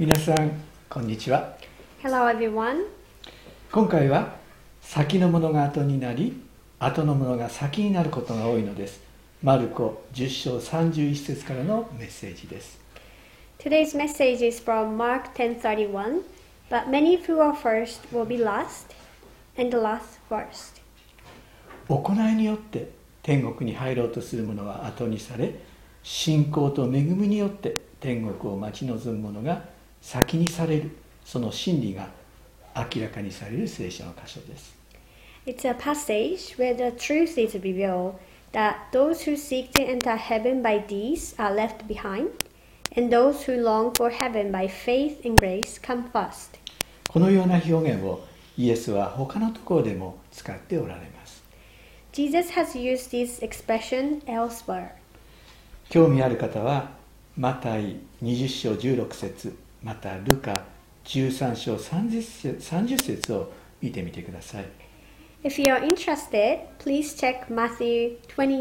皆さん、こんにちは。 Hello everyone. 今回は先のものが後になり、後のものが先になることが多いのです。マルコ10章31節からのメッセージです。 Today's message is from Mark 10:31. But many who are first will be last, and the last first. 行いによって天国に入ろうとする者は後にされ、信仰と恵みによって天国を待ち望む者が先にされる、その真理が明らかにされる聖書の箇所です。 It's a passage where the truth is revealed that those who seek to enter heaven by deeds are left behind, and those who long for heaven by faith and grace come first. このような表現をイエスは他のところでも使っておられます。 Jesus has used this expression elsewhere. 興味ある方はマタイ20章16節またルカ13章30節を見てみてください。 If you are interested, please check Matthew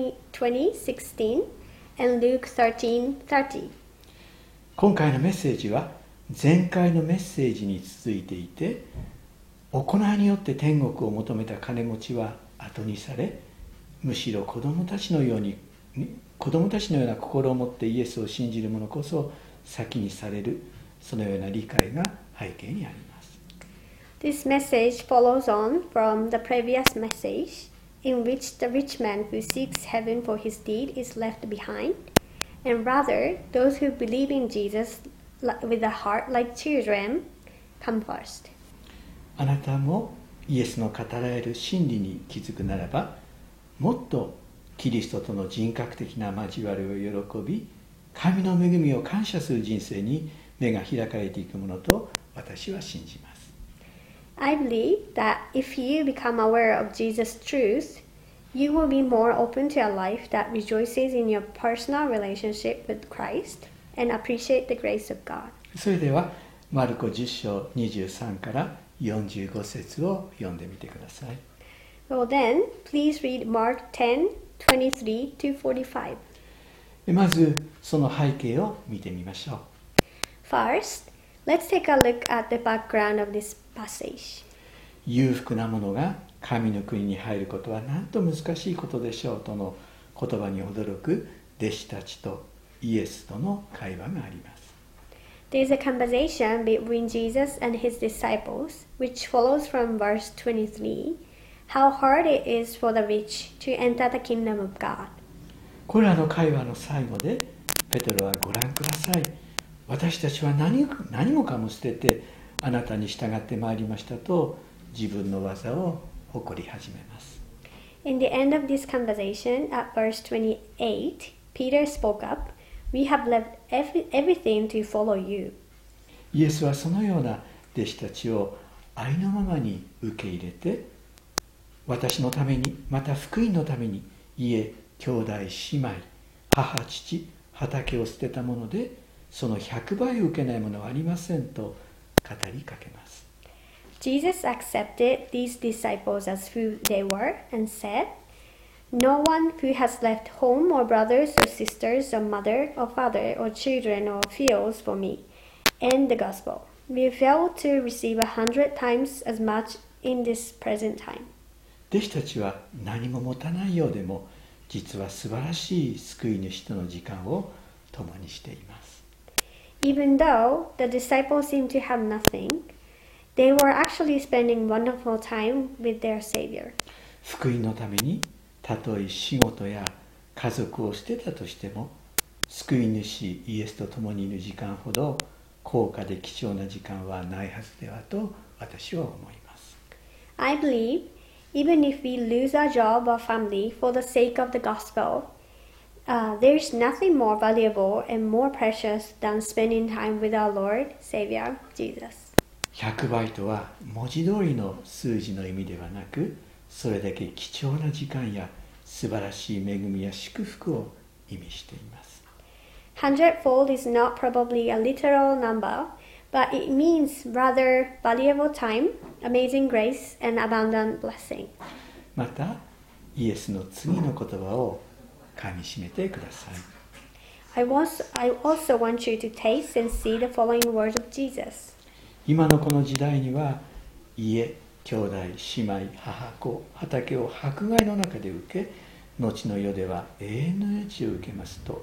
20:16 and Luke 13:30. 今回のメッセージは前回のメッセージに続いていて、行いによって天国を求めた金持ちは後にされ、むしろ子供たちのような心を持ってイエスを信じる者こそ先にされる、そのような理解が背景にあります。 This message follows on from the previous message, in which the rich man who seeks heaven for his deed is left behind, and rather those who believe in Jesus with a heart like children come first. あなたもイエスの語られる真理に気づくならば、もっとキリストとの人格的な交わりを喜び、神の恵みを感謝する人生に目が開かれていくものと私は信じます。 I believe that if you become aware of Jesus' truth, you will be more open to a life that rejoices in your personal relationship with Christ and appreciate the grace of God. それではマルコ10章23から45節を読んでみてください。 Well then, please read Mark 10:23 to 45. まずその背景を見てみましょう。 First, let's take a look at the background of this passage. 裕福な者が神の国に入ることはなんと難しいことでしょうとの言葉に驚く弟子たちとイエスとの会話があります。 There is a conversation between Jesus and his disciples, which follows from verse 23, how hard it is for the rich to enter the kingdom of God. これらの会話の最後でペテロはご覧ください。私たちは何もかも捨ててあなたに従ってまいりましたと自分の技を誇り始めます。 In the end of this conversation, at verse 28, Peter spoke up, We have left everything to follow you. イエスはそのような弟子たちをありのままに受け入れて、私のために、また福音のために家、兄弟、姉妹、母、父、畑を捨てたもので、その100倍を受けないものはありませんと語りかけます。 Jesus accepted these disciples as who they were and said, No one who has left home or brothers or sisters or mother or father or children or fields for me and the gospel will fail to receive 100 times as much in this present time. 弟子たちは何も持たないようでも、実は素晴らしい救い主との時間を共にしています。 Even though the disciples seemed to have nothing, they were actually spending wonderful time with their Savior. 福音のためにたとえ仕事や家族を捨てたとしても、救い主イエスと共にいる時間ほど高価で貴重な時間はないはずではと私は思います。 I believe even if we lose our job or family for the sake of the gospel, there is nothing more valuable and more precious than spending time with our Lord, Savior, Jesus. 100倍とは文字通りの数字の意味ではなく、それだけ貴重な時間や素晴らしい恵みや祝福を意味しています。 Hundredfold is not probably a literal number, but it means rather valuable time, amazing grace, and abundant blessing. また、イエスの次の言葉をかみしめてください。 I also want you to taste and see the following words of Jesus. 今のこの時代には家、兄弟、姉妹、母子、畑を迫害の中で受け、後の世では永遠の命を受けますと。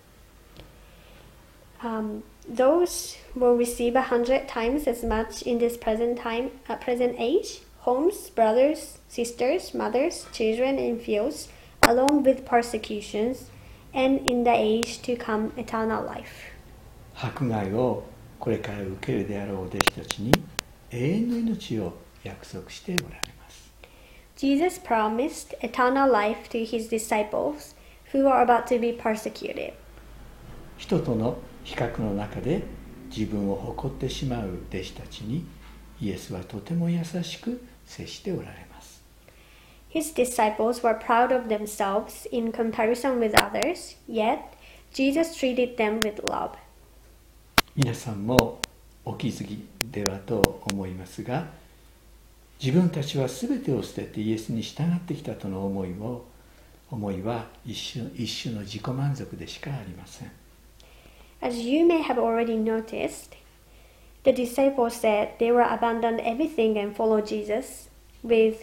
Those will receive 100 times as much in this present age, homes, brothers, sisters, mothers, children, and fields, along with persecutions, and in the age to come eternal life. 迫害をこれから受けるであろう弟子たちに永遠の命を約束しておられます。 Jesus promised eternal life to his disciples who are about to be persecuted. 人との比較の中で自分を誇ってしまう弟子たちにイエスはとても優しく接しておられます。 His disciples were proud of themselves in comparison with others, yet Jesus treated them with love. 皆さんもお気づきではと思いますが、自分たちは全てを捨ててイエスに従ってきたとの思いは一種の自己満足でしかありません。 As you may have already noticed, the disciples said they were abandoned everything and followed Jesus with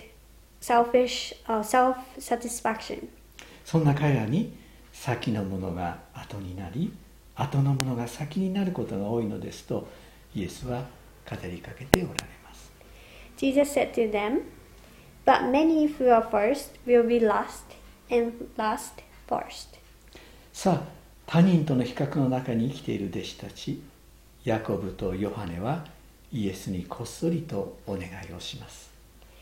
self-satisfaction. そんな彼らに先のものが後になり、後のものが先になることが多いのですとイエスは語りかけておられます。 Jesus said to them, "But many who are first will be last, and last first." さあ、他人との比較の中に生きている弟子たち、ヤコブとヨハネはイエスにこっそりとお願いをします。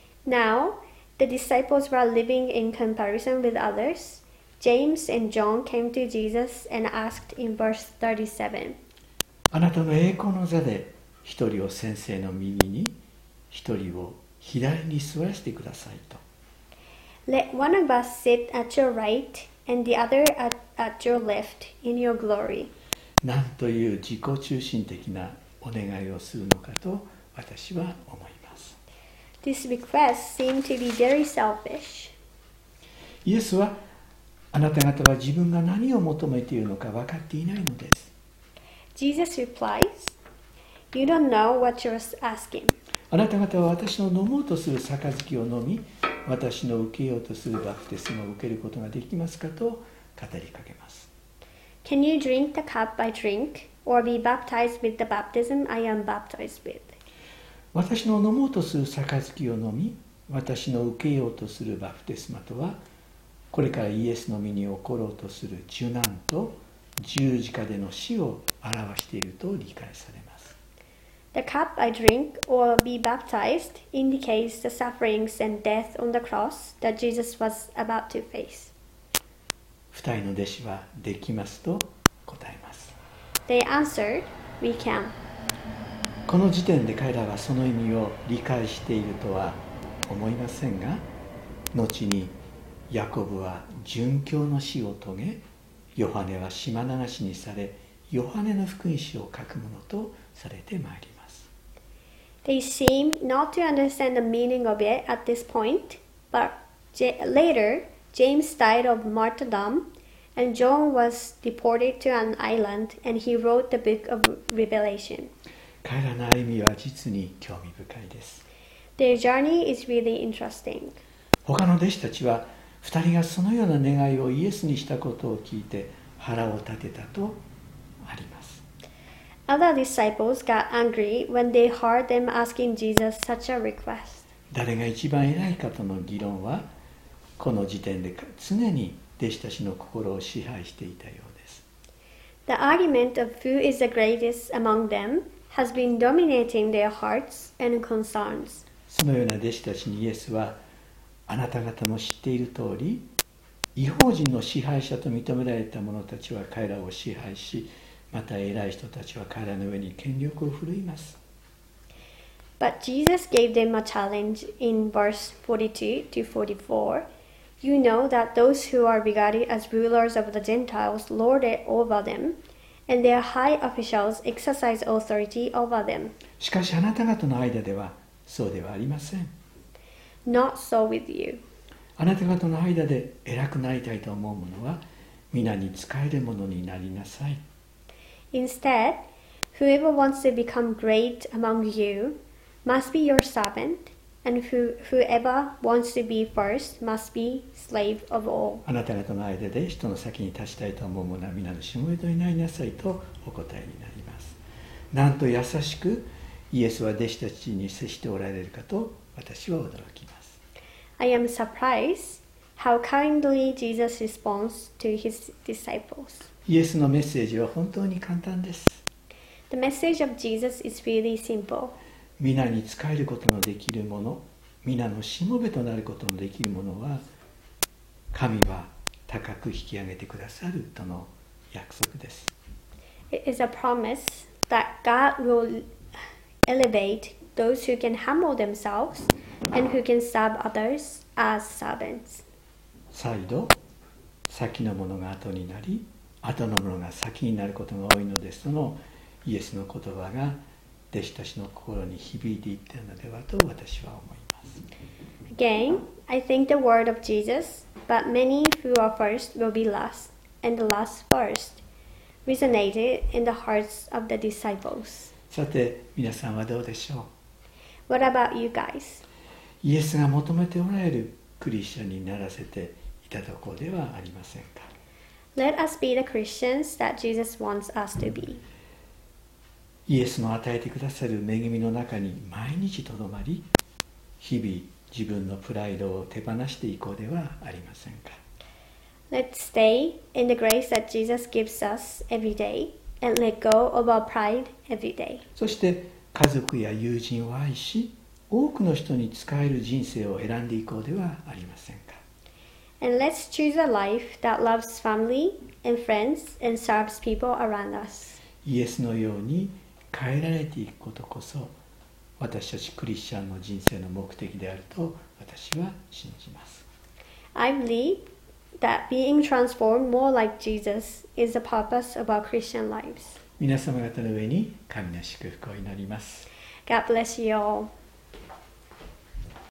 Now, the disciples were living in comparison with others. James and John came to Jesus and asked in verse 37, あなたの栄光の座で一人を先生の右に、一人を左に座らせてくださいと。 "Let one of us sit at your right and the other at your left in your glory." なんという自己中心的なお願いをするのかと私は思います。 This request seemed to be very selfish. イエスはあなた方は自分が何を求めているのか分かっていないのです。 Jesus replies, "You don't know what you're asking." あなた方は私の飲もうとする杯を飲み、私の受けようとするバプテスマを受けることができますかと語りかけます。 Can you drink the cup I drink, or be baptized with the baptism I am baptized with? 私の飲もうとする杯を飲み、私の受けようとするバプテスマとは、これからイエスの身に起ころうとする受難と十字架での死を表していると理解されます。 The cup I drink, or be baptized, indicates the sufferings and death on the cross that Jesus was about to face. 二人の弟子はできますと答えます。 They answered, "We can." この時点で彼らはその意味を理解しているとは思いませんが、後にヤコブは殉教の死を遂げ、ヨハネは島流しにされ、ヨハネの福音書を書くものとされてまいります。 They seem not to understand the meaning of it at this point, but later James died of martyrdom, and John was deported to an island, and he wrote the book of Revelation. 彼らの歩みは実に興味深いです。 Their journey is really interesting. 他の弟子たちは2人がそのような願いをイエスにしたことを聞いて腹を立てたとあります。 Other disciples got angry when they heard them asking Jesus such a request. 誰が一番偉いかとの議論はこの時点で常に弟子たちの心を支配していたようです。 The argument of who is the greatest among them has been dominating their hearts and concerns. そのような弟子たちにイエスはあなた方も知っている通り、異邦人の支配者と認められた者たちは彼らを支配し、また偉い人たちは彼らの上に権力を振るいます。 But Jesus gave them a challenge in verse 42 to 44. You know that those who are regarded as rulers of the Gentiles lord it over them, and their high officials exercise authority over them. しかしあなた方の間ではそうではありません。 Not so with you. あなた方の間で偉くなりたいと思う者は皆に仕えるものになりなさい。 Instead, whoever wants to become great among you must be your servant, and whoever wants to be first must be slave of all. あなた方の間で人の先に立ちたいと思う者は皆のしもべとになりなさいとお答えになります。なんと優しくイエスは弟子たちに接しておられるかと私は驚きます。 I am surprised how kindly Jesus responds to his disciples. イエスのメッセージは本当に簡単です。 The message of Jesus is really simple. 皆に仕えることのできるもの、皆のしもべとなることのできるものは、神は高く引き上げてくださるとの約束です。 It is a promise that God will elevate those who can humble themselves and who can serve others as servants. 再度、先のものが後になり、後のものが先になることが多いのですとのイエスの言葉が弟子たちの心に響いていったのではと私は思います。 Again, I think the word of Jesus, but many who are first will be last, and the last first, resonated in the hearts of the disciples. さて、皆さんはどうでしょ What about you guys? う。イエスが求めておられるクリスチャンにならせていただこうではありませんか。 Let us be the Christians that Jesus wants us to be. イエスの与えてくださる恵みの中に毎日とどまり、日々自分のプライドを手放していこうではありませんか。 Let's stay in the grace that Jesus gives us every day and let go of our pride every day. そして家族や友人を愛し、多くの人に仕える人生を選んでいこうではありませんか。 And let's choose a life that loves family and friends and serves people around us. イエスのように変えられていくことこそ、私たちクリスチャンの人生の目的であると私は信じます。 I believe that being transformed more like Jesus is the purpose of our Christian lives. 皆様方の上に神の祝福を祈ります。 God bless you all.